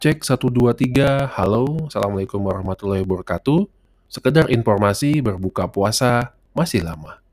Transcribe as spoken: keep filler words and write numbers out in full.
Cek satu dua tiga, halo, Assalamualaikum warahmatullahi wabarakatuh. Sekedar informasi berbuka puasa masih lama.